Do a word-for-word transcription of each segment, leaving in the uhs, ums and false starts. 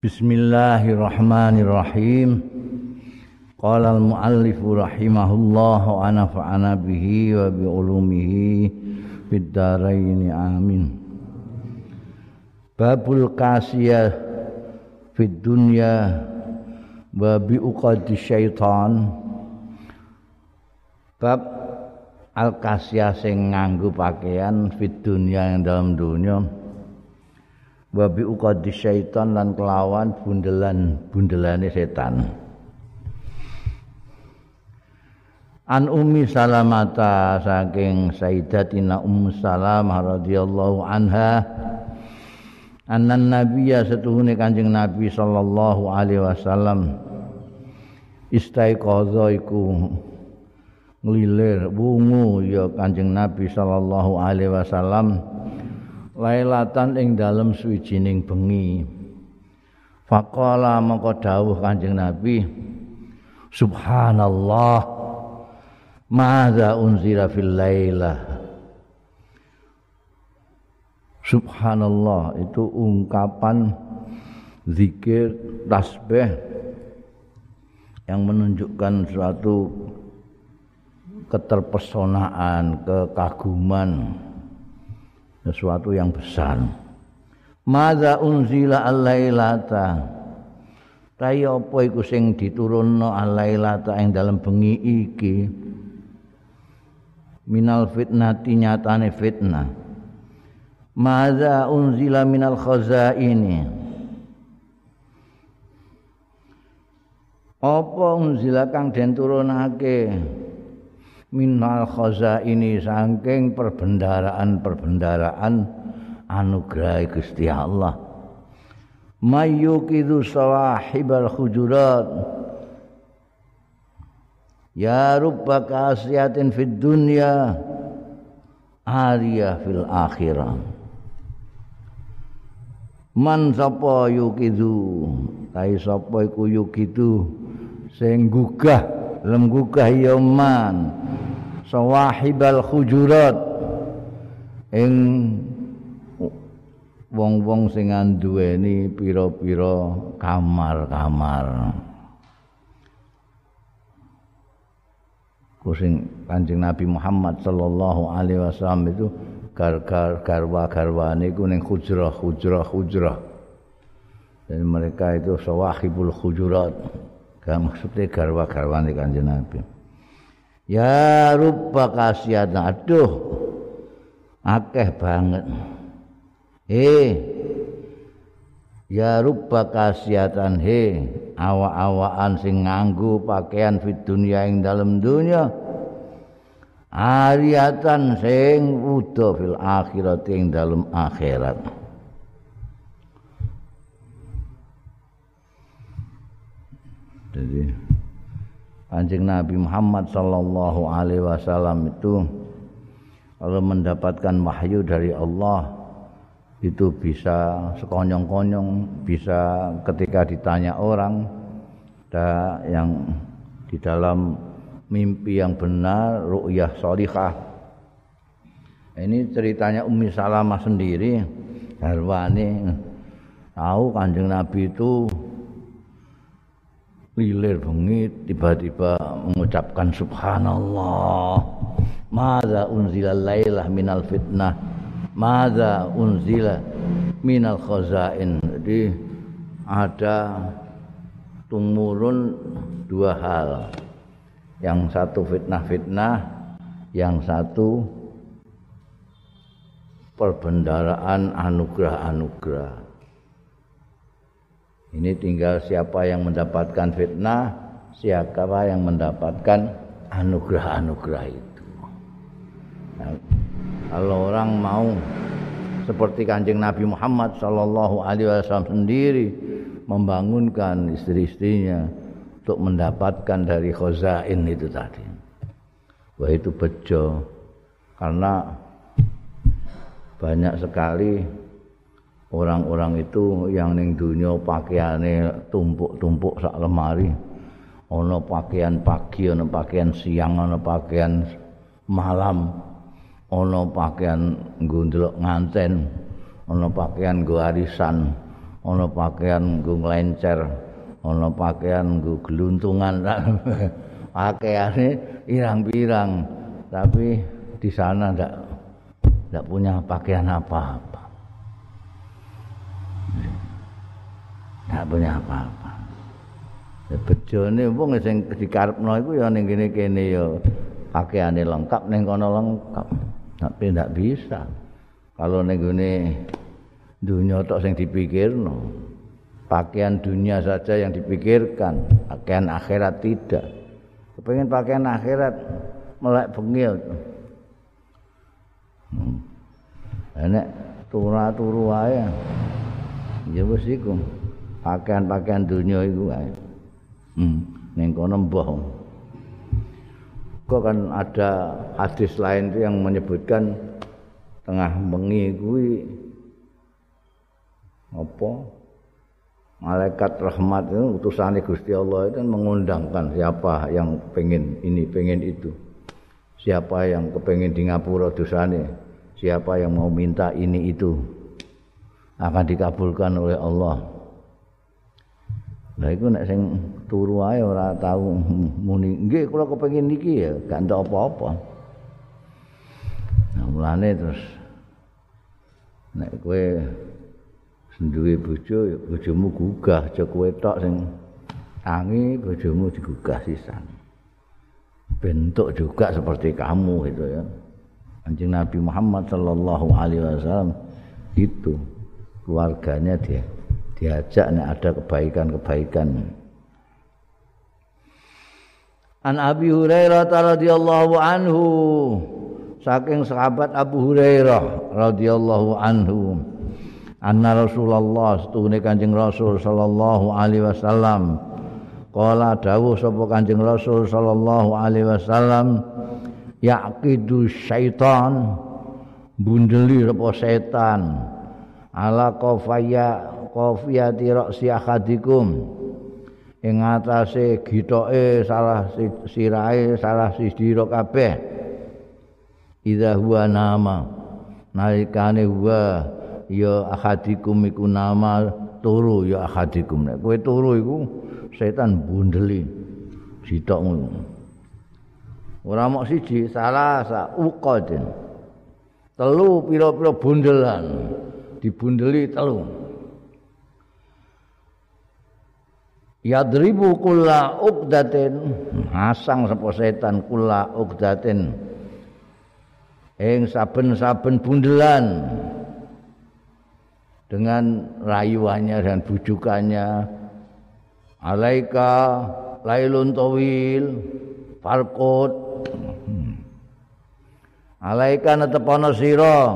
Bismillahirrahmanirrahim. Qala al-muallif rahimahullah wa nafa'ana bihi wa bi ulumihi fid dharain amin. Babul kasiyah fid dunya wa bi uqadi syaitan. Bab al-kasiyah sing nganggo pakaian fid dunya yang dalam dunia. Wa bi uqadi syaitan lan kelawan bundelan-bundelane setan. An Ummi Salamata saking Sayyidatina Ummu Salamah radhiyallahu anha annan nabiyya setuhune Kanjeng Nabi sallallahu alaihi wasallam istaiqadha iku nglilir wungu ya Kanjeng Nabi sallallahu alaihi wasallam lailatan ing dalem suwijining bengi. Faqala mangko dawuh Kanjeng Nabi, Subhanallah, madza unzila fil lailah. Subhanallah itu ungkapan zikir tasbih yang menunjukkan suatu keterpesonaan, kekaguman, sesuatu yang besar. Madza unzila al-lailata, ta apa iku sing diturunno al-lailata ing dalem bengi iki, minal fitnati nyatane fitnah. Madza unzila minal khazaini, apa unzila kang den turunake minal khazaini saking perbendaraan-perbendaraan anugerah Gusti Allah. Mayyukidu sawahibal hujurat, ya rubba kasiyatin fid dunya ariyah fil akhirah. Man sapa yukidu, tai sapa iku yukidu sing gugah lem gugah ya man sawahibal hujurat ing wong-wong sing nduweni pira-pira kamar-kamar. Kusing Kanjeng Nabi Muhammad sallallahu alaihi wasallam itu gar-gar garwa-garwane iku ning hujrah-hujrah-hujrah. Dan mereka itu sawahibul hujurat. Gak maksudnya garwa-garwane Kanjeng Nabi. Ya rubba kasiyatan, aduh akeh banget. He ya rubba kasiyatan, he awak-awakan sing nganggo pakaian fid dunya ing dalem dunya, ariyatan sing wuda fil akhirat ing dalem akhirat. Jadi Kanjeng Nabi Muhammad sallallahu alaihi wasallam itu kalau mendapatkan wahyu dari Allah itu bisa sekonyong-konyong, bisa ketika ditanya orang, ada yang di dalam mimpi yang benar, ru'yah sholihah. Ini ceritanya Ummi Salamah sendiri, garwane tahu Kanjeng Nabi itu lilir bengi tiba-tiba mengucapkan Subhanallah, madza unzila lailah minal fitnah, madza unzila minal khazain. Jadi ada tumurun dua hal, yang satu fitnah-fitnah, yang satu perbendaraan anugerah-anugerah. Ini tinggal siapa yang mendapatkan fitnah, siapa yang mendapatkan anugerah-anugerah itu. Nah, kalau orang mau seperti Kanjeng Nabi Muhammad sallallahu alaihi wasallam sendiri membangunkan istri-istrinya untuk mendapatkan dari khazain itu tadi, wah itu bejo, karena banyak sekali orang-orang itu yang ning dunya pakaiane tumpuk-tumpuk sak lemari. Ana pakaian pagi, ana pakaian siang, ana pakaian malam, ana pakaian nggo ndelok nganten, ana pakaian nggo arisan, ana pakaian nggo nglencer, ana pakaian nggo geluntungan. Pakaiane irang-pirang, tapi di sana ndak ndak punya pakaian apa-apa. Ndak punya apa-apa. Bejone wong sing dikarepno iku ya ning kene-kene ya pakaiane lengkap, ning kono lengkap. Tapi ndak bisa. Kalau ning gone dunia tok sing dipikirno. Pakaian dunia saja yang dipikirkan, pakaian akhirat tidak. Kepengen pakaian akhirat melek bengil. Hmm. Nek turu-turu wae. Ya wis iku. Pakaian-pakaian dunia iku wae. Hmm, ning kono mbah. Kok kan ada hadis lain itu yang menyebutkan tengah bengi kuwi apa? Malaikat rahmat itu utusane Gusti Allah itu mengundangkan siapa yang pengen ini, pengen itu. Siapa yang kepengen di ngapura dosane, siapa yang mau minta ini itu akan dikabulkan oleh Allah. Lah iku nek sing turu ae ora tau muni, nggih kula kepengin niki ya, gak entuk apa-apa. Nah, mulane terus nek kowe duwe bojo ya bojomu gugah, aja kowe tok sing tangi, bojomu digugah sisan. Bentuk juga seperti kamu itu ya. Kanjeng Nabi Muhammad sallallahu alaihi wasallam itu keluarganya dia diajak nek ada kebaikan-kebaikan. An Abi Hurairah radhiyallahu anhu, saking sahabat Abu Hurairah radhiyallahu anhu, anna Rasulullah setune Kanjeng Rasul sallallahu alaihi wasallam qala dawuh sapa Kanjeng Rasul sallallahu alaihi wasallam yaqidu syaitan bundeli apa setan ala qafaya qafiyati ra'si ahadikum ing atase gitoke salah sirahe salah sira kabeh idza huwa nama nalikane huwa ya ahadikum iku nama turu ya ahadikum nek kowe turu iku setan bundeli sitokmu ora mok siji salah sa uqadin telu pira-pira bundelan dibundeli telu yadribu kulla uqdatin hasang sapa setan kulla uqdatin ing saben-saben bundelan dengan rayuannya dan bujukannya alaika lailun tawil farqut alaika netepana sira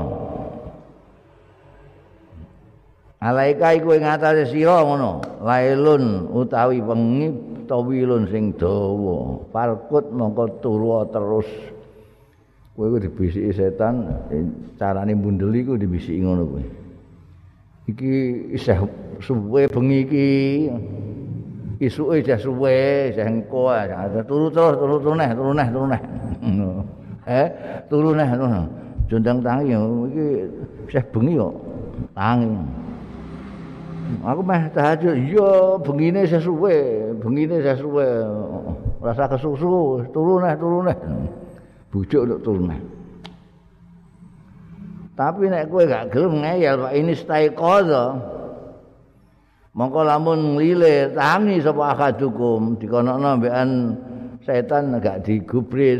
alaika iku ing atase sira ngono lailun utawi wengi tawilun sing dawa farqut mongko turu terus kowe iku dibisiki setan carane mbundeli iku dibisiki ngono kowe iki isih suwe bengi iki isuke isih suwe isih engko turu terus turu turu neh turu neh turu neh eh turu neh ngono jondang tangi iki isih bengi kok tangi aku meh tahajud iya bengine isih suwe bengine isih suwe rasa kesusu turu neh turu neh bujuk untuk turu neh. Tapi nek kowe gak gelem ngeyel Pak ini stay qadha. Mongko lamun nglilir tangi sapa akadukum dikonokno mbekan setan gak digubris.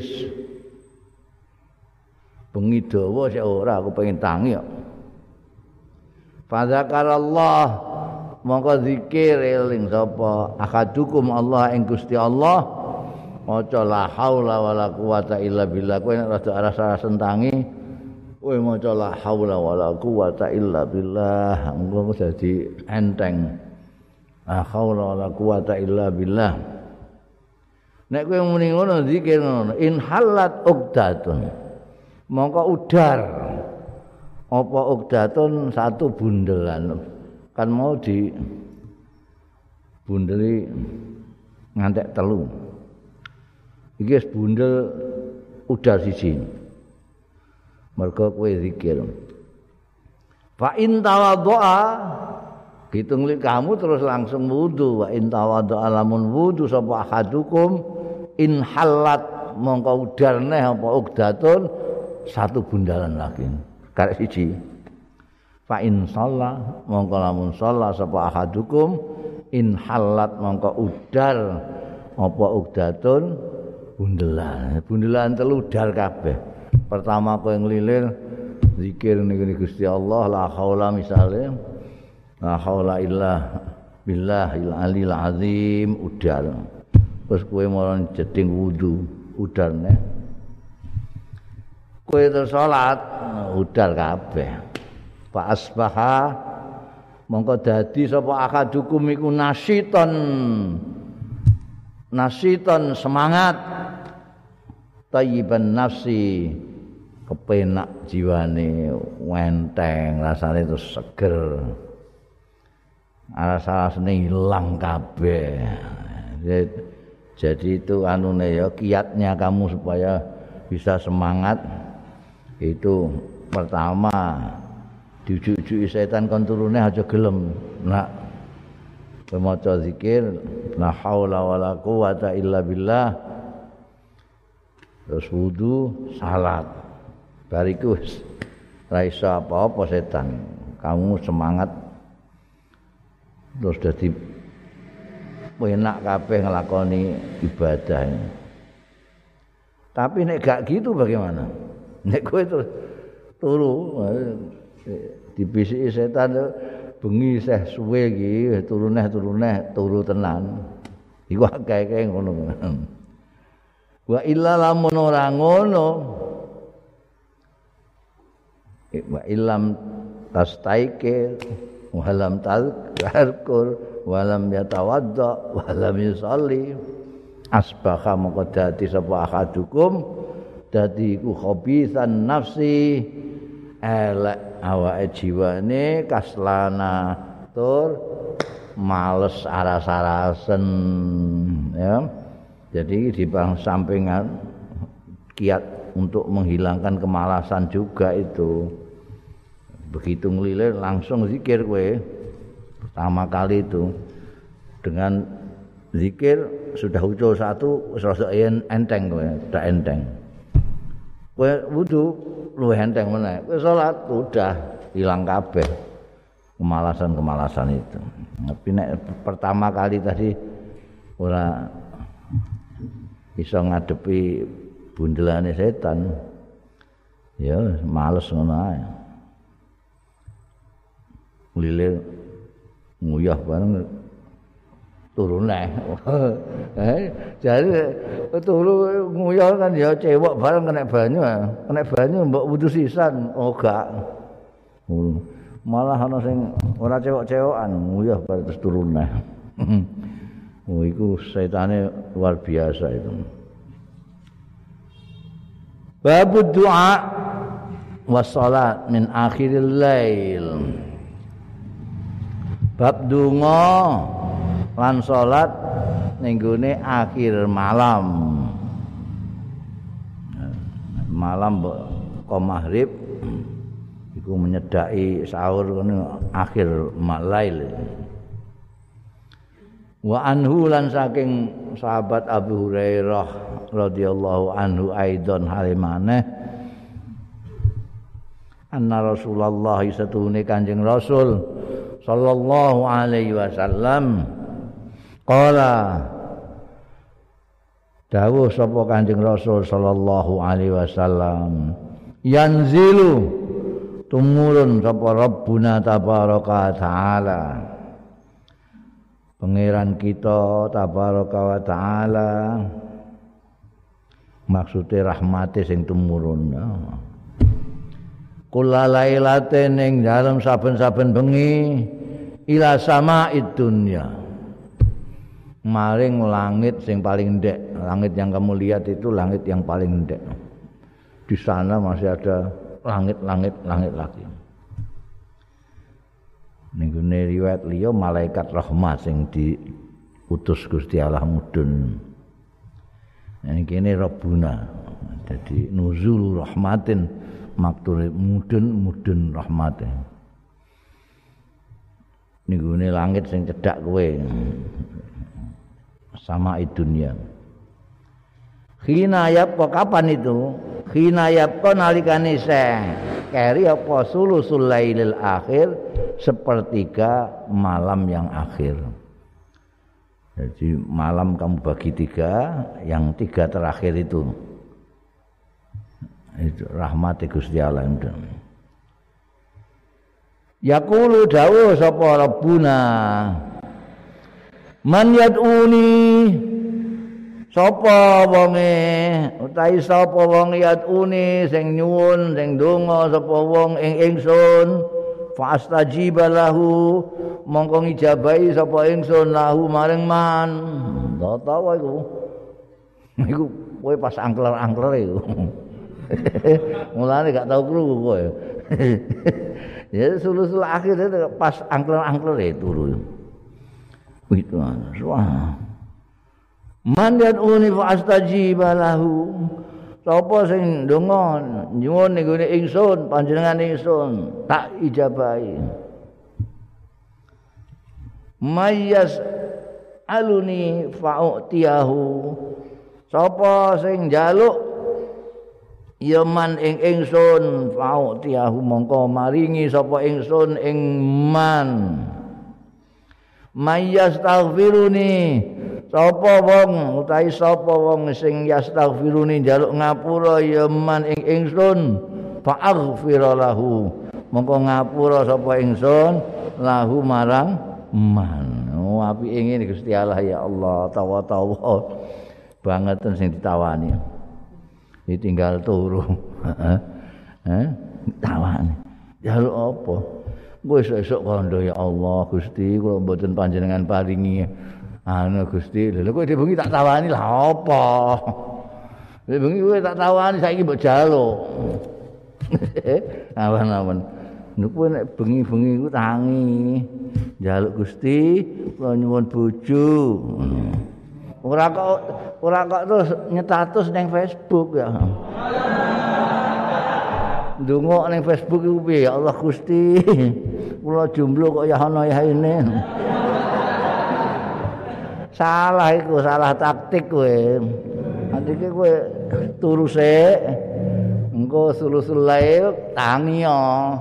Bengi dawa sik ora aku pengen tangi kok. Fadzakarallah mongko zikir eling sapa akadukum Allah ing Gusti Allah. Maca la haula wala quwata illa billah kowe nek rada rasa sentangi kowe maca la haula wala quwata illa billah engko dadi enteng la haula wala quwata illa billah nek kowe muni ngono zikir ngono in halat uqdatun mongko udar apa uqdatun satu bundelan kan mau di bundeli ngantek telu iki wis bundel udar siji mergo kowe zikir fa in tawaddoa begitu ngelihat kamu terus langsung wudu. Wa in tawaddu alamun wudu sapa ahadukum in halat mongko udar neh apa ugdatun satu bundalan lagi karek siji. Fa in shalla mongko lamun shalla sapa ahadukum in halat mongko udar apa ugdatun bundelan. Bundelan telu udar kabeh. Pertama kowe nglilir zikir ning Gusti Allah la haula misale la haula illa billahil alil azim udar. Terus kowe marang jeding wudu udar neh. Kowe terus salat udar kabeh. Fa asbaha mongko dadi sapa akadukum iku nasiton nasiton semangat tayyiban nafsi kepenak jiwane wenteng rasane terus seger rasa-rasane ilang kabeh. Jadi itu anune ya kiatnya kamu supaya bisa semangat itu pertama diujuk-ujuki setan kon turune aja gelem nak maca zikir la haula wala quwata illa billah terus wudu salat bariku ra iso apa-apa setan kamu semangat terus dadi enak kabeh nglakoni ibadah. Tapi nek gak gitu bagaimana? Nek kowe terus turu dibisiki setan bengi seh suwe iki turuneh turuneh turu tenan. Iku akeh-akeh ngono. Wa illa lamun ora ngono wa illam tastaike wa lam tazkur wa lam yatawadda wa lam yusalli asbaha moko dadi sapa akadukum dadi iku khabisan nafsi elek awake jiwane kaslana tur males aras-arasen ya. Jadi di sampingan kiat untuk menghilangkan kemalasan juga itu. Begitu ngelilir langsung zikir kowe. Pertama kali itu dengan zikir sudah ucul satu rasa enteng kowe, udah enteng. Kowe wudu luwih enteng meneh. Kowe salat udah hilang kabeh kemalasan-kemalasan itu. Tapi nek pertama kali tadi ora iso ngadepi bundelane setan. Ya males ngono ae. Lilir nguyah bareng turun neh. Eh, jadi turu nguyah kan ya cewek bareng kena banyu, kena banyu mbok wudu sisan. Oh gak. Malah ana sing ora cewek-cewekan nguyah bareng terus turun neh. Oh iku setane luar biasa itu. Bab doa was salat min akhiril lail. Bab donga lan salat ning gone akhir malam. Malam kok maghrib iku menyedaki sahur ngono akhir malail. Wa anhu lan saking sahabat Abu Hurairah radhiyallahu anhu aidon halimane anna Rasulullah satune Kanjeng Rasul sallallahu alaihi wasallam qala dawuh sapa Kanjeng Rasul sallallahu alaihi wasallam yanzilu tumurun sapa Rabbuna tabaraka taala pangeran kita tabaraka wa taala maksudnya rahmate sing tumurun kula lailate ning dalem saben-saben bengi ila sama'id dunya maring langit sing paling ndek. Langit yang kamu lihat itu langit yang paling ndek. Di sana masih ada langit-langit langit lagi. Ning gone riwayat liya malaikat rahmat sing diutus Gusti Allah mudhun. Nek kene Rabbuna. Jadi nuzul rahmatin maktur mudhun mudhun rahmatin. ning gone langit sing cedhak kowe. Sama dunya. Khina yapqa kapan itu? Khina yapqa nalikane seh keri apa sulusul lailil akhir sepertiga malam yang akhir. Jadi malam kamu bagi tiga, yang tiga terakhir itu itu rahmat Gusti Allah. Yaqulu dawuh sapa Rabbuna man yad'uni sapa wonge utahi sapa wong yad'uni sing nyuwun sing donga sapa wong ing ingsun fastajiba lahu mongko ngijabahi sapa ingsun lahu maring man tau iku iku kowe pas angkler-angkler iku mulane gak tau krungu kowe ya sulusul akhir itu pas angkler-angkler itu turu itu wah man yad'uni fastajiba lahu sapa sing ndonga nyuwun ning gone ingsun panjenengan ingsun tak ijabahi mayyas aluni fa'utiyahu sapa sing njaluk ya man ing ingsun fa'utiyahu mongko maringi sapa ingsun ing man mayyas taghfiruni sapa wong utahi sapa wong sing yastaghfiruni njaluk ngapura ya man ing ingsun fa'aghfira lahu mongko ngapura sapa ingsun lahu marang man. Oh apike ngene Gusti Allah ya Allah tawa-tawa banget sing ditawani ditinggal turu heeh tawani njaluk apa kowe esuk kandha ya Allah Gusti kula mboten panjenengan paringi anu Gusti lha kowe bengi tak tawani lah apa bengi kowe tak tawani saiki mbok jaluk awan-awan niku nek bengi-bengi ku tangi njaluk Gusti kula nyuwun bojo ora kok ora kok terus nyetatus ning Facebook ya ndonga ning Facebook iku piye ya Allah Gusti kula jomblo kok ya ana ya ini salah iku salah taktik kowe andike kowe turu sik engko sulusul lail tangi yo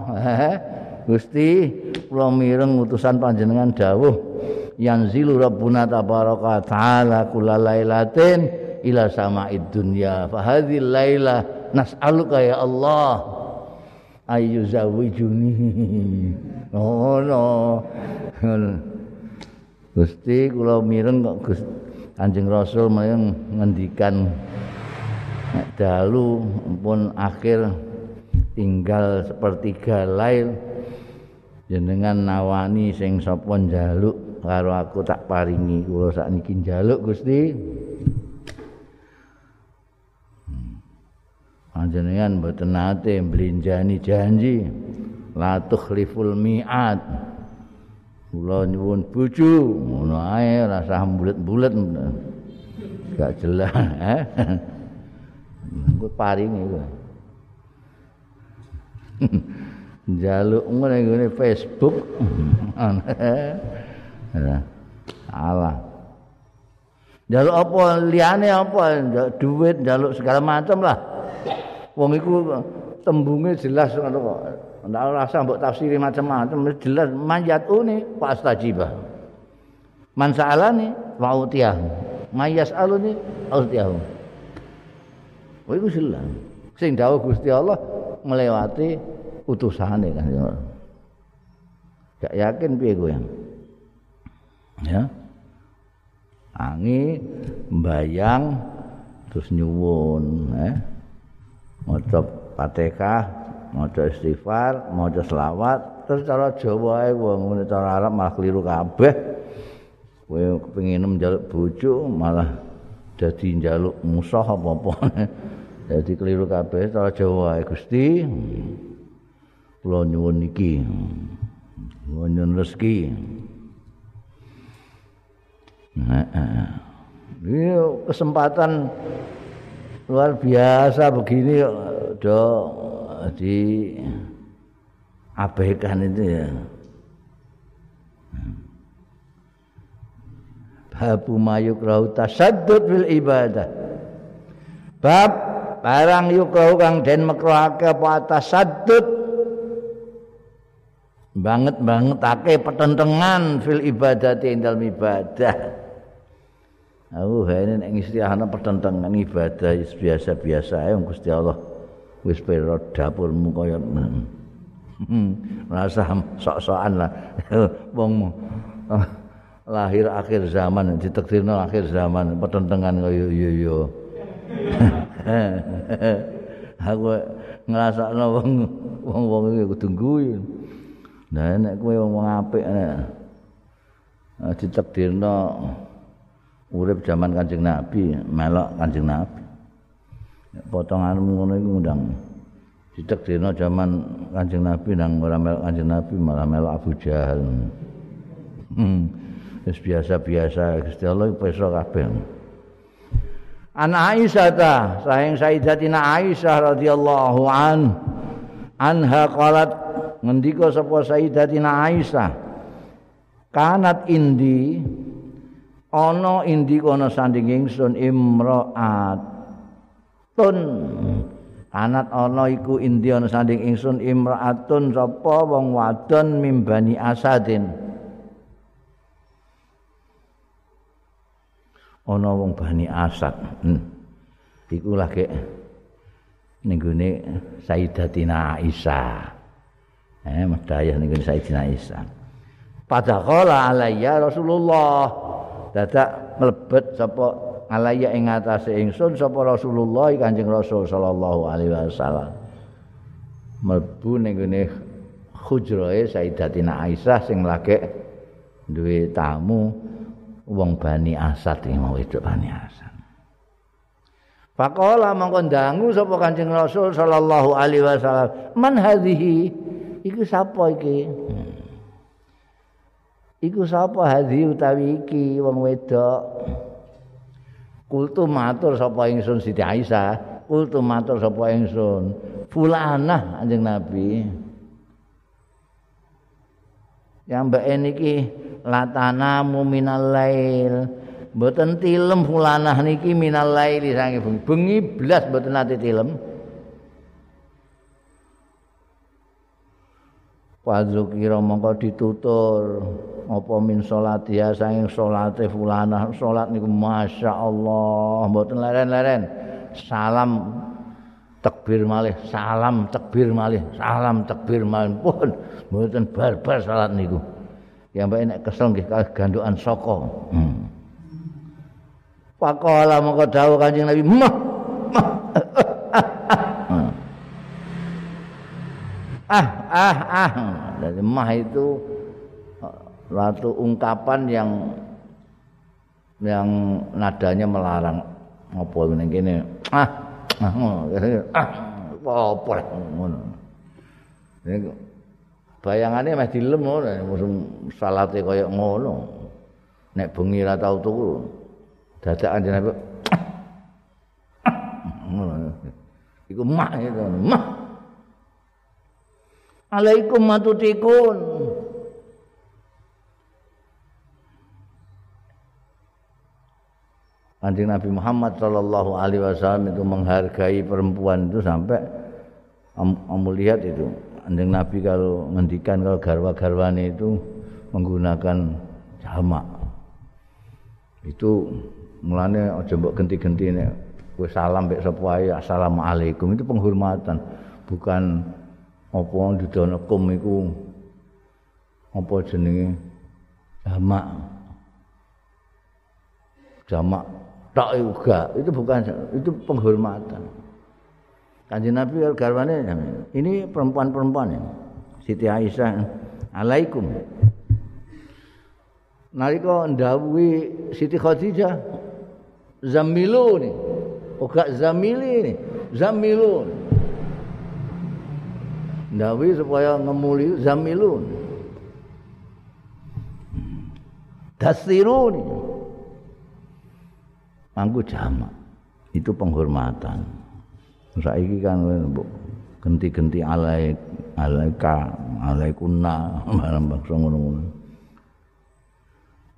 Gusti kula mireng utusan panjenengan dawuh yanzilu rabbuna tabaraka taala kullalailatin ila sama'id dunya fa hadhil laila nas'aluka ya Allah ayu zawijuni oh no Gusti kula mireng kok Gusti Kanjeng Rasul mireng ngendikan nek dalu pun akhir tinggal sepertiga lail jenengan nawani sing sapa njaluk karo aku tak paringi kula sakniki njaluk Gusti panjenengan mboten nate mblenjani janji la tukhliful mi'ad kula nyuwun bojo ngono ae rasah bulet-bulet gak jelas eh engko paringi kowe njaluk ngene Facebook Allah njaluk apa liyane apa duit njaluk segala macam lah wong iku tembunge jelas ngono kok ndak rasa mbok tafsiri macam-macam jelas manjatune fastajibah man sa'alani wa utiyahu mayas aluni utiyahu wa iku jelas sing dawuh Gusti Allah nglewati utusane kan gak yakin piye kowe ya angi mbayang terus nyuwun eh maca Fatihah maca istighfar maca selawat terus cara Jawa ae wong cara Arab malah keliru kabeh kowe kepengin njaluk bojo malah dadi njaluk musuh apa-apa dadi keliru kabeh cara Jawa ae Gusti kula nyuwun niki nyuwun rezeki nah, ini kesempatan luar biasa begini do di abaikan itu ya Babu mayukrahu tasaddud fil ibadah. Bab barang yukrahu kang den makruhake apa tasaddud banget-bangetake petentengan fil ibadati ing dalem ibadah. Aku hene nek istilahna petentengan ibadah biasa-biasa ae wong Gusti Allah wis pira dapurmu kaya rasa sok-sokan lah wong lahir akhir zaman ditakdirno akhir zaman petentengan kaya yo yo aku ngrasakno wong wong-wong iki kudu guyu nah nek kowe wong apik nek ditakdirno urip zaman Kanjeng Nabi melok Kanjeng Nabi potonganmu ngono iku ngundang ditakdirno zaman Kanjeng Nabi nang ora melok Kanjeng Nabi malah melok Abu Jahal. Hmm. Wis biasa-biasa Gusti Allah peso kabeh. An Aisyah ta, saking Sayyidatina Aisyah radhiyallahu an anha qalat ngendika sapa Sayyidatina Aisyah kanat indi ana indi kono sanding ingsun imra'atun kanat ana iku indi ana sanding ingsun imra'atun sapa wong wadon mimbani Asadin ana wong Bani Asad. Hmm. Iku lagi ning gone Sayyidatina Aisyah. Eh medayah ning gone Sayyidatina Aisyah. Padahal alayya Rasulullah. Dadak mlebet sapa alayya ing atase ingsun sapa Rasulullah Kanjeng Rasul sallallahu alaihi wasallam. Mlebu ning gone hujrahe Sayyidatina Aisyah sing lagi duwe tamu wong Bani Asad iki mau wedok Bani Asad. Faqala mongko ndangu sapa Kanjeng Rasul sallallahu alaihi wasallam, "Man hadhihi?" Iku sapa iki? Hmm. Iku sapa hadhi utawi iki wong wedok? Kultu matur sapa ingsun Siti Aisyah, kultu matur sapa ingsun, fulanah Kanjeng Nabi. Yang mbak niki latanamu minal lail mboten tilem fulanah niki minal laili sange bengi bengi blas mboten nate tilem Wadzukira mongko ditutur apa min salatiha saking salate fulanah salat niku masyaallah mboten leren-leren salam takbir malih salam takbir malih salam takbir malih pun mboten barbar salat niku ya mbak nek kesel nggih kalih gandukan saka hmm. Faqala mongko dawuh Kanjeng Nabi mah mah ah ah ah dari mah itu suatu ungkapan yang yang nadanya melarang apa ngene kene ah ah ah apa ngono niku bayangane meh dilem ngono salate kaya ngono nek bengi ra tau turu dadakan jenenge ngono iku mah itu mah alaikum matutikun Kanjeng Nabi Muhammad sallallahu alaihi wasallam itu menghargai perempuan itu sampai kamu lihat itu Kanjeng Nabi kalau ngendikan kalau garwa-garwane itu menggunakan jamak itu mulane aja mbok genti-genti nek kowe salam mek sapa wae assalamualaikum itu penghormatan bukan apa didonokum iku apa jenenge jamak jamak tak juga itu bukan itu penghormatan Kanjeng Nabi garwane ini perempuan-perempuan ini Siti Aisyah alaikum nalika ndawuhi Siti Khadijah zamiluni ora zamili zamilun ndawuhi supaya ngemuli zamilun dasiruni anggo jamak itu penghormatan saiki kan genti-genti alaik alaika alaikunna barang bangsa ngono-ngono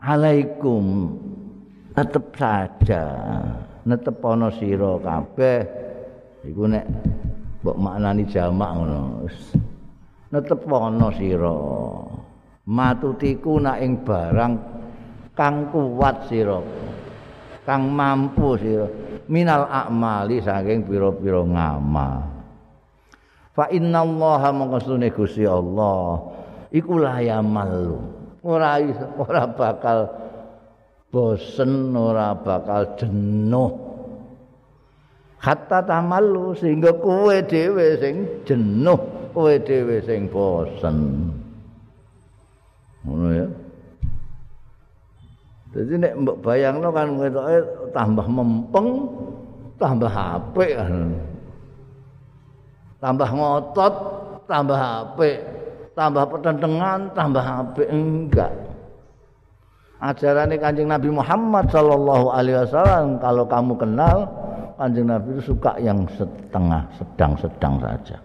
alaikum tetep saja netepono sira kabeh iku nek mbok maknani jamak ngono netepono sira matutiku nak ing barang kang kuat sira kang mampu sira minal a'mali saking pira-pira ngamal fa innallaha maqsune Gusti Allah iku layamal ora ora bakal bosen ora bakal jenuh hatta tamallu sehingga kowe dhewe sing jenuh kowe dhewe sing bosen ngono ya. Jadi nek mbok bayangno kan ketoke tambah mempeng, tambah apik kan. Tambah ngotot, tambah apik, tambah pertentangan, tambah apik enggak. Ajarannya Kanjeng Nabi Muhammad sallallahu alaihi wasallam kalau kamu kenal Kanjeng Nabi itu suka yang setengah, sedang-sedang saja.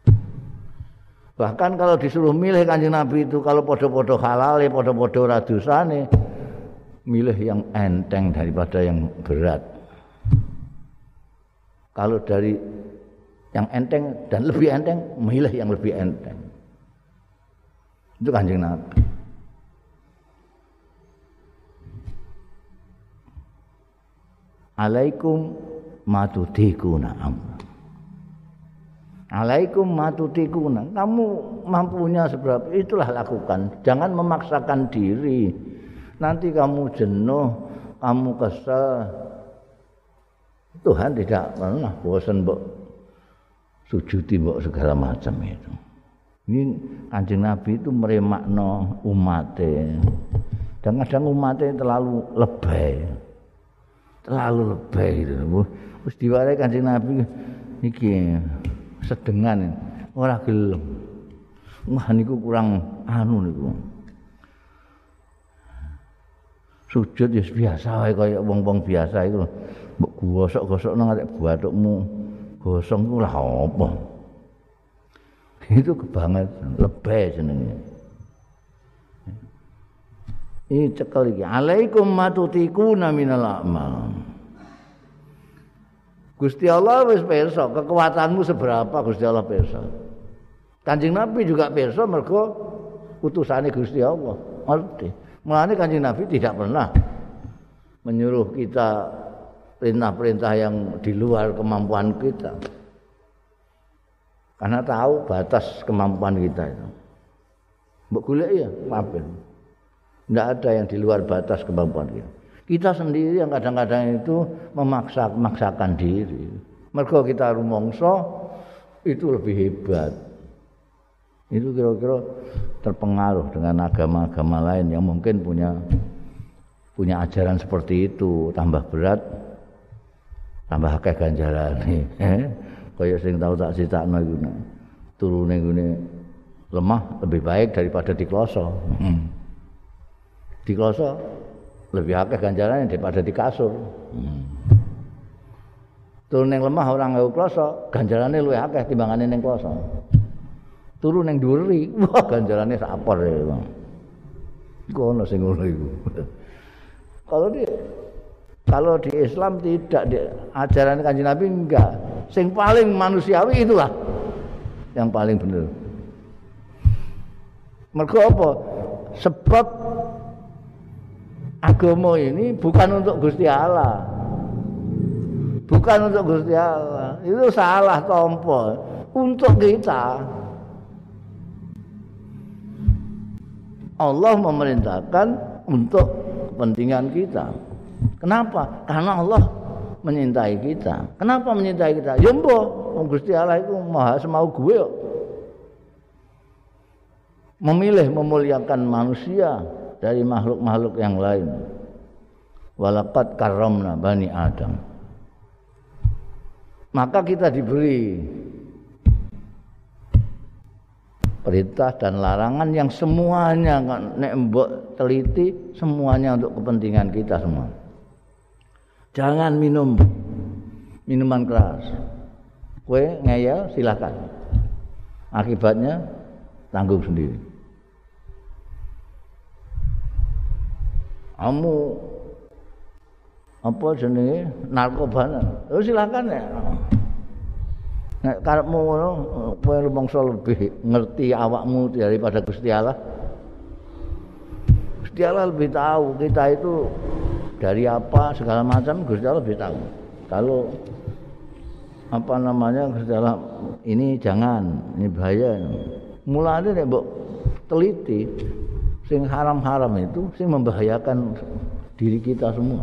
Bahkan kalau disuruh milih Kanjeng Nabi itu kalau podo-podo halal, podo-podo ora dosane, milih yang enteng daripada yang berat. Kalau dari yang enteng dan lebih enteng, milih yang lebih enteng. Itu Kanjeng Nabi. Alaikum matudikuna amr. Alaikum matutikuna. Kamu mampunya seberapa itulah lakukan. Jangan memaksakan diri. Nanti kamu jenuh, kamu kesel. Tuhan tidak pernah bosan mbok sujudi mbok segala macam itu. Ini Kanjeng Nabi itu meremakno umatnya. Dan kadang umatnya terlalu lebay. Terlalu lebay itu. Wis diwarai Kanjeng Nabi iki sedengan ora gelem. Wah niku kurang anu niku. Sujud ya biasa wae kaya wong-wong biasa iku. Mbok gosok-gosok nang arek bathukmu gosong iku lah apa. Itu kebanget lebay jenenge. Ini cekel iki. Alaikum matutikuna minal a'mal. Gusti Allah wis pirsa kekuatanmu seberapa Gusti Allah pirsa. Kanjeng Nabi juga pirsa mergo utusane Gusti Allah. Ngerti. Mulane Kanjeng Nabi tidak pernah menyuruh kita perintah-perintah yang di luar kemampuan kita. Karena tahu batas kemampuan kita itu. Mbok golek ya, maafin. Tidak ada yang di luar batas kemampuan kita. Kita sendiri yang kadang-kadang itu memaksa-maksakan diri. Mergo kita rumangsa itu lebih hebat. Itu kira-kira terpengaruh dengan agama-agama lain yang mungkin punya punya ajaran seperti itu, tambah berat, tambah akeh ganjarane. Kaya sing tau tak critakno iku. Turune ngene lemah lebih baik daripada dikloso. Dikloso lebih akeh ganjarannya daripada di kasur. Hmm. Turun yang lemah orang nggawe kloso, ganjarannya luwih akeh timbangane ning kloso. Turun yang dhuwuri, wah ganjarannya sapor ya, Bang. Iku ono sing ngono iku. Kalau di kalau di Islam tidak di ajaran Kanjeng Nabi enggak. Sing paling manusiawi itulah yang paling benar. Mergo apa? Sebab agama ini bukan untuk Gusti Allah. Bukan untuk Gusti Allah. Itu salah tompo untuk kita. Allah memerintahkan untuk kepentingan kita. Kenapa? Karena Allah menyintai kita. Kenapa menyintai kita? Ya mbok, Gusti Allah itu maha semau gue kok. Memilih memuliakan manusia dari makhluk-makhluk yang lain. Walaqad karramna bani Adam. Maka kita diberi perintah dan larangan yang semuanya nek mbok teliti semuanya untuk kepentingan kita semua. Jangan minum minuman keras. Kowe ngeyel silakan. Akibatnya tanggung sendiri. Kamu apa jenenge narkoba. Oh silakan ya. Nek karepmu ngono kowe rumangsa lebih ngerti awakmu daripada Gusti Allah. Gusti Allah lebih tahu kita itu dari apa segala macam Gusti Allah lebih tahu. Kalau apa namanya Gusti Allah ini jangan, ini bahaya. Mulane nek mbok teliti sing haram-haram itu sing membahayakan diri kita semua.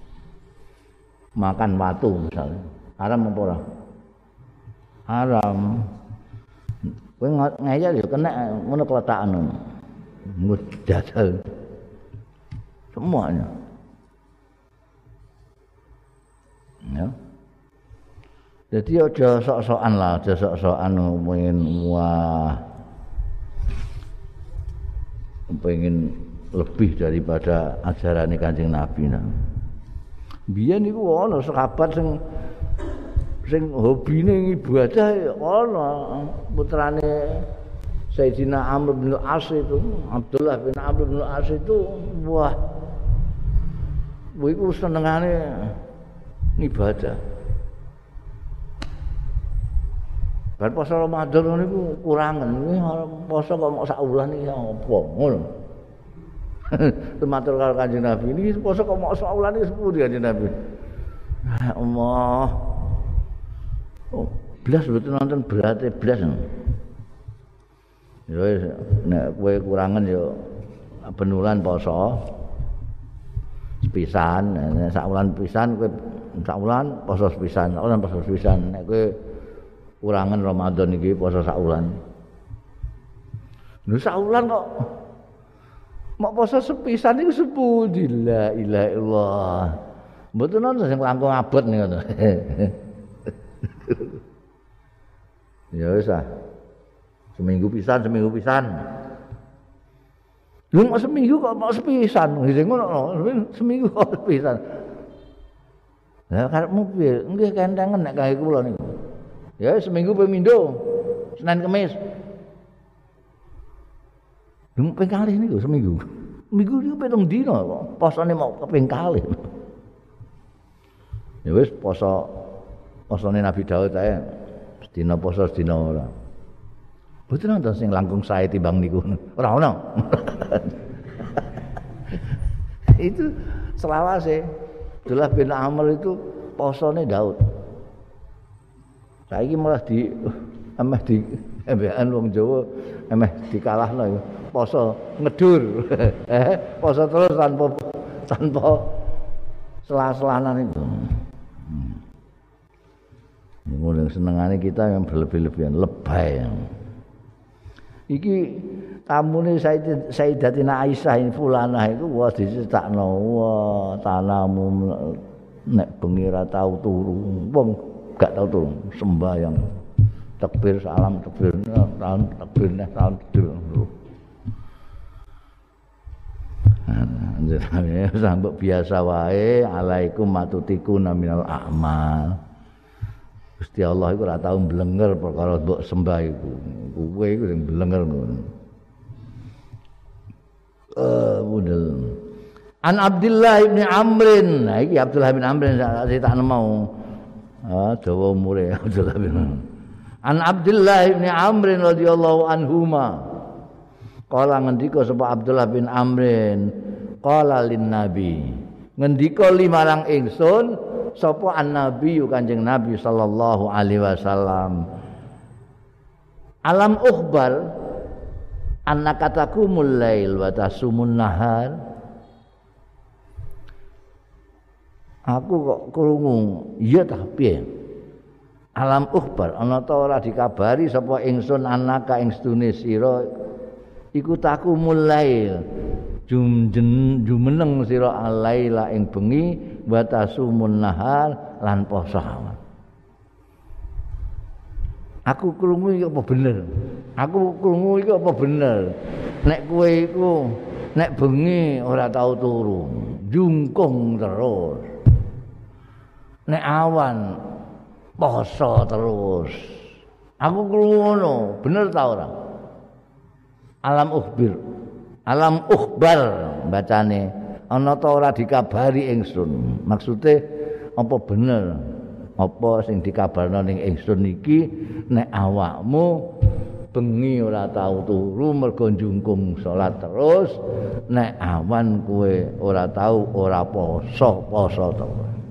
Makan watu misalnya, haram apa ora? Haram. Kowe ngeyel ya kena ngono keletakan ngono. Ngut dadal. Semuanya. Ya. Jadi aja sok-sokan lah, aja sok-sokan pengen wah. Pengen lebih daripada ajaran Kanjeng Nabi. Nah. Biyen niku ana sahabat sing sing hobine ibadah ana putrane Sayyidina Amr bin As itu, Abdullah bin Amr bin As itu wah iku senengane ibadah. Bar poso Ramadan niku kurangan, poso kok mok sak wulan iki apa ngono. Matur karo Kanjeng Nabi ini poso kok mok sak wulan iki sepuh Kanjeng Nabi. Ya Allah. Oh, blas betul nonton berarti blas. Ya wis nek kowe kurangan ya benulan poso sepisan, nek sak wulan pisan kowe sak wulan poso sepisan, sak wulan poso sepisan. Nek kowe kurangan Ramadan iki poso sak wulan. Lho sak wulan kok mok poso sepisan iku sepundi la ilaha illallah. Mboten ana sing langkung abot ngono. Ya wis ah. Seminggu pisan, seminggu pisan. Lho kok seminggu kok mau sepisan, ngene ngono. Seminggu kok sepisan. Lah karepmu piye? Nggih kentengen nek kangge kula niku. Ya seminggu pemindo. Senin Kamis. Lho ping kalih niku seminggu. Minggu niku pitung dina kok. Posone mau keping kalih. Ya wis poso posone Nabi Daud ae. Sedina poso sedina ora. Mboten wonten sing langkung sae timbang niku. Ora ono. Itu selawase Abdullah bin Amr itu posone Daud. Saiki malah di emeh di embekan wong Jawa emeh dikalahno iku. Poso ngedur. Eh, poso terus tanpa tanpa selah-selanan itu. Ngono senengane kita yang berlebih-lebihan lebay. Iki tamune Sayyidatina Aisyah in fulanah itu wah diceritakno wah tanamu nek bengi ra tau turu wong gak tau turu sembahyang takbir salam takbir tahun takbir neh tahun tidur anjene sampe biasa wae alaikum matutikuna minal a'mal. Gusti Allah iku ora tau mblenger perkara mbok sembah iku. Kowe iku sing mblenger ngono. Eh, budel. An Abdullah bin Amrin. Nah iki Abdullah bin Amrin sak tak mau. Ah, dawa umure Abdullah bin Amr. An Abdullah bin Amrin radhiyallahu anhuma. Kala ngendika sapa Abdullah bin Amrin, qala lin nabi. Ngendika limarang ingsun sapa an-nabi Kanjeng Nabi sallallahu alaihi wasallam. Alam ukhbar annaka taqumul lail wa tasumun nahar. Aku kok krungu, iya ta piye? Alam ukhbar ana ta ora dikabari sapa ingsun annaka ing sedune sira iku taqumul lail. Jumjen jumeneng sira alaila ing bengi wa tasumun nahar lan poso. Aku krungu iki apa bener? Aku krungu iki apa bener? Nek kowe iku nek bengi ora tau turu, jungkung terus. Nek awan poso terus. Aku krungu ngono, bener ta ora? Alam ukhbir. Alam ukhbar bacane ana ta ora dikabari ingsun. Maksude apa bener apa sing dikabarno ning ingsun iki nek awakmu bengi ora tau turu mergo njungkung salat terus nek awan kowe ora tau ora poso poso to.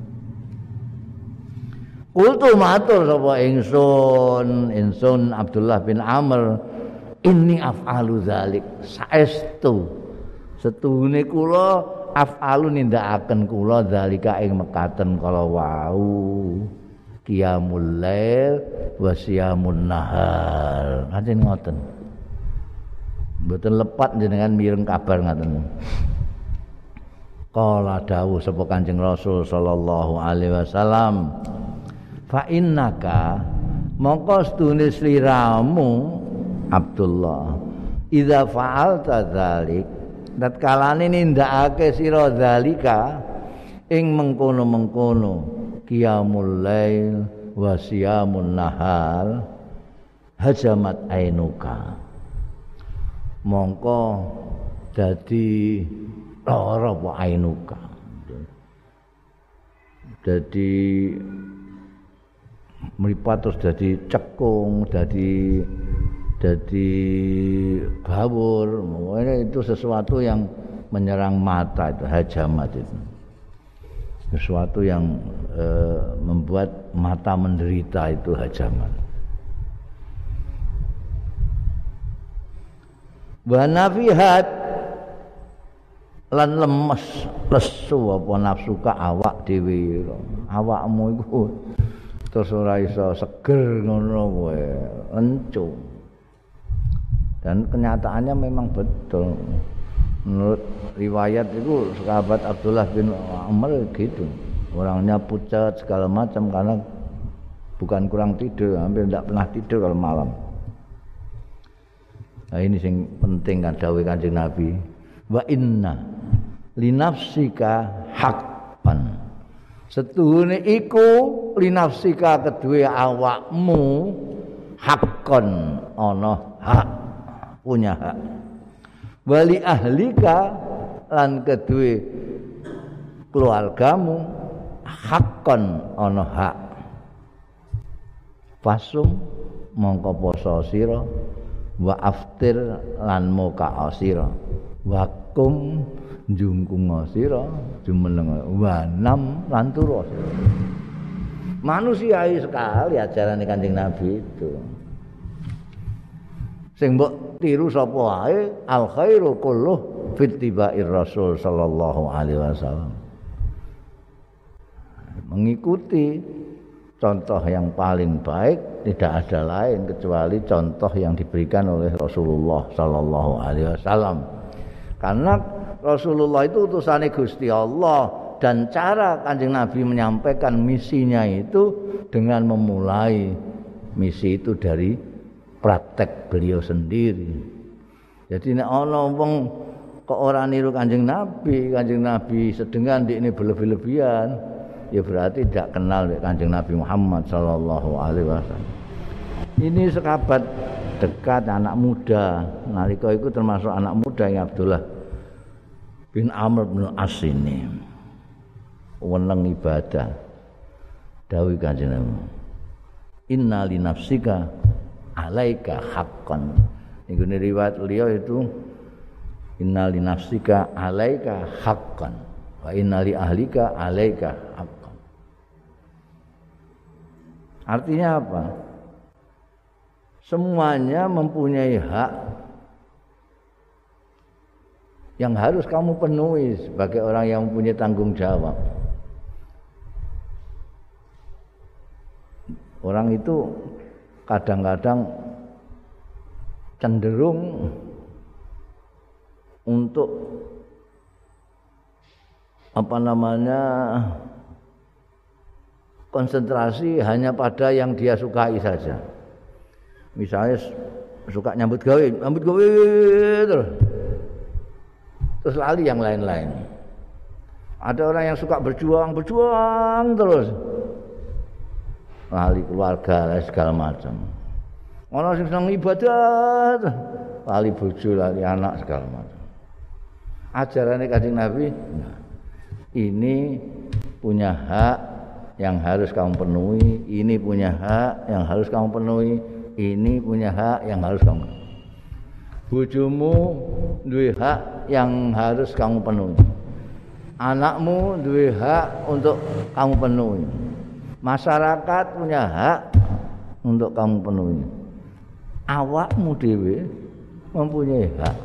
Kultu matur sapa ingsun ingsun Abdullah bin Amr inni af'alu dzalik saestu setune kula af'alu nindakaken kula dzalika ing mekaten kala wau qiyamul lail wa siyamun nahar ngaten ngoten mboten lepat jenengan mireng kabar ngaten kala dawuh sapa Kanjeng Rasul sallallahu alaihi wasallam fa innaka mongko stune sliramu Abdullah idza fa'alta dzalik tatkalane nindakake sira dzalika ing mengkono-mengkono qiyamul lail wa siyamun nahar hajamat ainuka mongko dadi lara apa ainuka dadi mripat terus dadi cekung dadi dadi bawur itu sesuatu yang menyerang mata itu hajamat itu sesuatu yang e, membuat mata menderita itu hajamat. Wa nafihat lan lemes lesu apa nafsu ka awak dhewe awakmu iku terus ora iso seger ngono kowe encu. Dan kenyataannya memang betul. Menurut riwayat itu sahabat Abdullah bin Amr gitu. Orangnya pucat segala macam karena bukan kurang tidur, hampir tidak pernah tidur kalau malam. Nah ini yang penting kan dawuh Kanjeng Nabi. Wa inna linafsika haqqan. Setuhune iku linafsika kedue awakmu haqqan ana hak, punya hak. Wali ahlika lan kedue keluargamu haqqan ana hak. Fasum mongko poso sira wa aftir lan muka sira wa kum njungkung sira jumeneng wa nam lan turu sira. Manusiawi sekali ajaran Kanjeng Nabi itu. Sing mbok tiru sapa wae al khairu kulluh fittiba'ir Rasul sallallahu alaihi wasallam. Mengikuti contoh yang paling baik tidak ada lain kecuali contoh yang diberikan oleh Rasulullah sallallahu alaihi wasallam. Karena Rasulullah itu utusane Gusti Allah dan cara Kanjeng Nabi menyampaikan misinya itu dengan memulai misi itu dari praktek beliau sendiri. Jadi nek ana wong kok ora niru Kanjeng Nabi, Kanjeng Nabi sedengan ndekne berlebih-lebihan, ya berarti tidak kenal Kanjeng Nabi Muhammad sallallahu alaihi wasallam. Ini sahabat dekat anak muda, nalika itu termasuk anak muda yang Abdullah bin Amr bin As ini. Weneng ibadah. Dawuh Kanjeng Nabi. Inna li nafsika alaika haqqan. Niku riwayat beliau itu inna li nafsika alaika haqqan wa inna li ahlika alaika haqqan. Artinya apa? Semuanya mempunyai hak yang harus kamu penuhi sebagai orang yang mempunyai tanggung jawab. Orang itu kadang-kadang cenderung untuk apa namanya konsentrasi hanya pada yang dia sukai saja. Misalnya suka nyambut gawe, nyambut gawe terus, terus lali yang lain-lain. Ada orang yang suka berjuang, berjuang terus, lali keluarga segala macam. Orang yang senang ibadah, lali bojo, lali anak segala macam. ajarannya Kanjeng Nabi, nah, ini punya hak yang harus kamu penuhi, ini punya hak yang harus kamu penuhi, ini punya hak yang harus kamu penuhi. Bojomu duwe hak yang harus kamu penuhi. Anakmu duwe hak untuk kamu penuhi. Masyarakat punya hak untuk kamu penuhi. Awakmu dhewe mempunyai hak.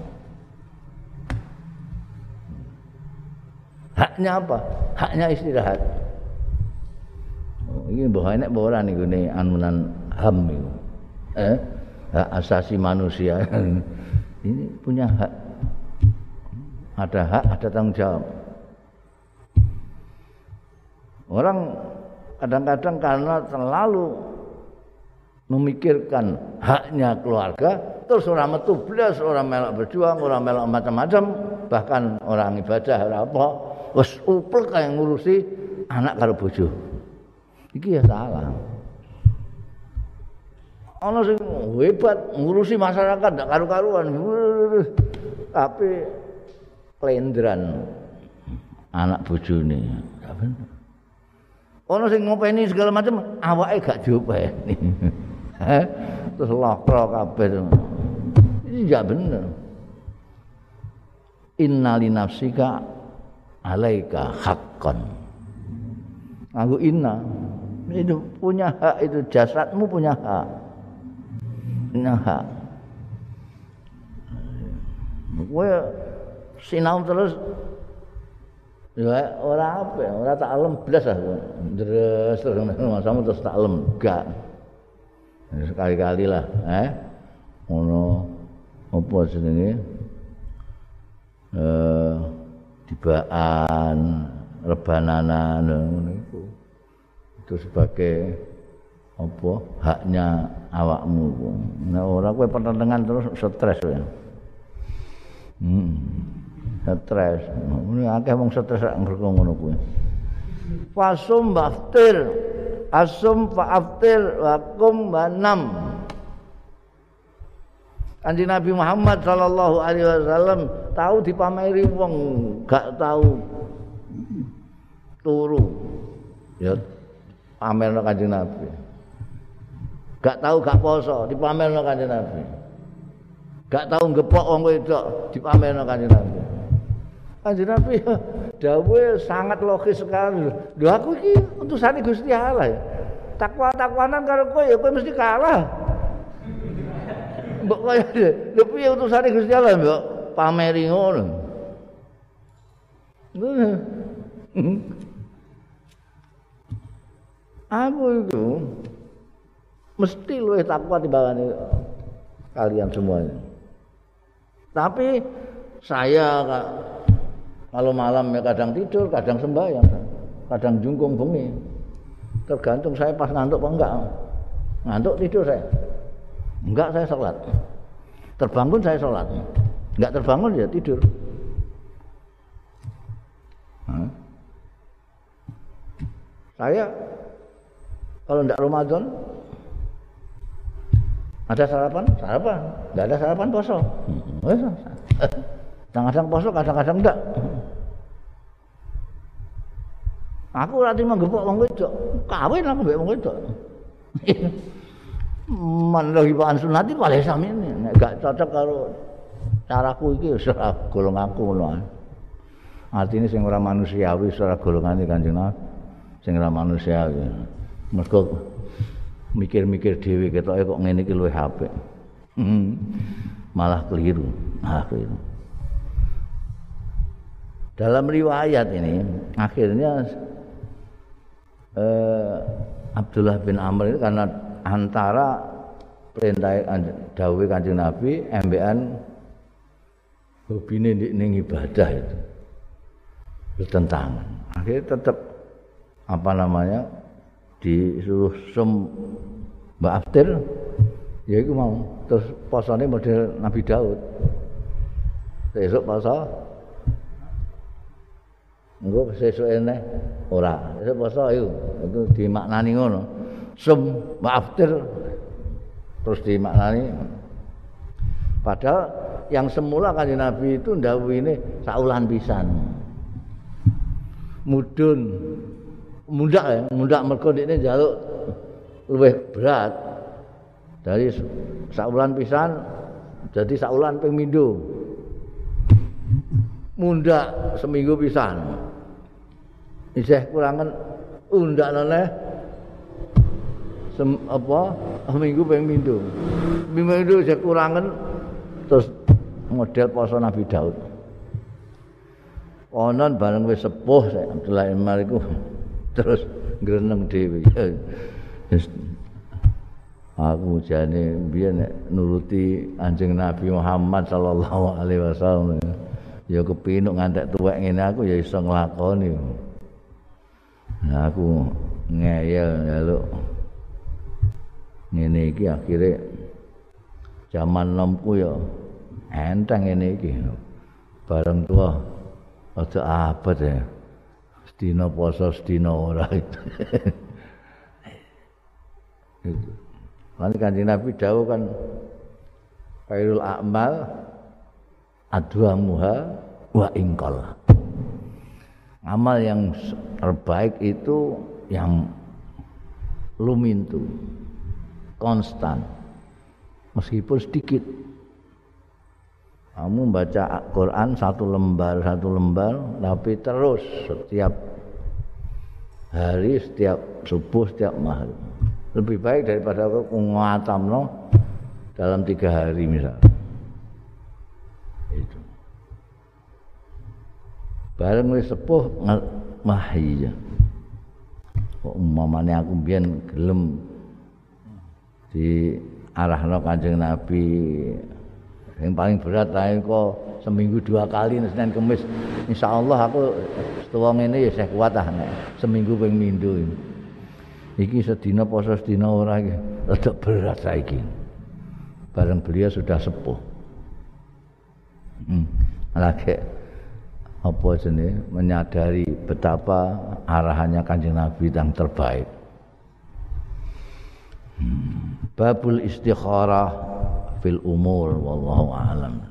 Haknya apa? Haknya istirahat. Oh, ini mbah enek apa ora niku ne anunan H A M itu. Eh, hak asasi manusia. Ini punya hak. Ada hak, ada tanggung jawab. Orang kadang-kadang karena terlalu memikirkan haknya keluarga, terus orang metu blas, orang melok berjuang, orang melok macam-macam, bahkan orang ibadah ora apa, wis upel kaya ngurusi anak karo bojo. Iki ya salah. Ana sing hebat ngurusi masyarakat ndak karu-karuan. Tapi klendran anak bojone. Ya bener. Ana sing ngopeni segala macam, awake gak diopeni. Terus lokro kabeh. Ini enggak bener. Innali nafsika alaika haqqan. Aku inna itu punya hak, itu jasadmu punya hak. Punya hak. Kowe sinau terus ya ora apa, ora tak alem blas ah. Terus terus masamu terus tak alem enggak. Sekali-kali lah, eh. Ngono apa jenenge? Eh tibaan, rebananan ngono iku. Itu sebagai apa? Haknya awakmu. Nah, ora kowe pertentangan terus stres ya. Hmm. Stres. Ini akeh wong stres rak ngerko ngono kuwi. Fasum baftir, asum faaftir wakum banam. Kanjeng Nabi Muhammad sallallahu alaihi wasallam tahu dipameri wong gak tahu turu. Ya pamerno Kanjeng Nabi. Gak tahu gak poso dipamerno Kanjeng Nabi. Gak tahu ngepok wong wedok dipamerno Kanjeng Nabi. Kanjeng Nabi dawuhe sangat logis sekali. Lho aku iki utusane Gusti Allah ya. Takwa-takwanan karo kowe ya kowe mesti kalah. Mbok kaya lho piye utusane Gusti Allah mbok pameri ngono. Aku itu mesti luwih takwa timbangane kalian semuanya. Tapi saya kalau malam ya kadang tidur, kadang sembahyang, kadang jungkung bengi. Tergantung saya pas ngantuk apa enggak. Ngantuk tidur saya. Enggak saya sholat. Terbangun saya sholat. Enggak terbangun ya tidur. Hah? Saya kalau enggak Ramadan ada sarapan, sarapan. Enggak ada sarapan poso. Hmm. Kadang-kadang poso, kadang-kadang enggak. Aku ora trimo gepok wong wedok. Kawin aku mbek wong wedok. Man lagi pan sunati paling samene. Nek gak cocok karo caraku iki wis ora golonganku ngono. Artine sing ora manusiawi ora golongane Kanjeng Nabi. Sing ora manusiawi. Mergo mikir-mikir dhewe ketoke kok ngene iki luwih apik. Hmm. Malah keliru. Malah keliru. Dalam riwayat ini akhirnya eh, Abdullah bin Amr itu karena antara perintah dawuh Kanjeng Nabi embekan hobine ning ibadah itu bertentangan. Akhirnya tetap apa namanya disuruh sum Mbak Aftir ya iku mau terus posone model Nabi Daud. Besok poso engko sesuk eneh ora. Sesuk poso iku itu dimaknani ngono. Sum Mbak Aftir terus dimaknani padahal yang semula Kanjeng Nabi itu ndhawuhine saulan pisan. Mudun mundak ya, mundak mergo dekne njaluk luwih berat. Dari saulan pisan jadi saulan ping pindho. Mundak seminggu pisan. Isih kurangan undak neh sem apa minggu ping pindho. Minggu isih kurangan terus model poso Nabi Daud. Konon bareng wis sepuh Abdullah bin Umar iku terus ngreneng dhewe. Aku jane biyen nek nuruti Kanjeng Nabi Muhammad sallallahu alaihi wasallam ya kepinuk ngantek tuwek ngene aku ya iso nglakoni. Nah aku ngeyel njaluk ngene iki akhire zaman nomku ya enteng ngene iki. Bareng tua aja abot ya. Sedina poso sedina ora itu. Itu. Lan Kanjeng Nabi dawuh kan khairul a'mal adwamuha wa ingqal. Amal yang terbaik itu yang lumintu, konstan, meskipun sedikit. Kamu baca Quran satu lembar satu lembar, tapi terus setiap hari, setiap subuh, setiap maghrib. Lebih baik daripada aku ngatamno dalam tiga hari misalnya. Itu. Bareng wis sepuh mah iya. Kok umpamane aku mbiyen gelem di arahno Kanjeng Nabi yang paling berat ae kok seminggu dua kali Senin Kamis. Insyaallah aku setuwa ngene ya saya kuat ah nek seminggu ping pindho. Iki sedina poso sedina ora iki rada berat saiki. Bareng beliau sudah sepuh. Hmm. Lagi apa jenenge menyadari betapa arahannya Kanjeng Nabi yang terbaik. Hmm. Babul istikharah fil umur wallahu a'lam.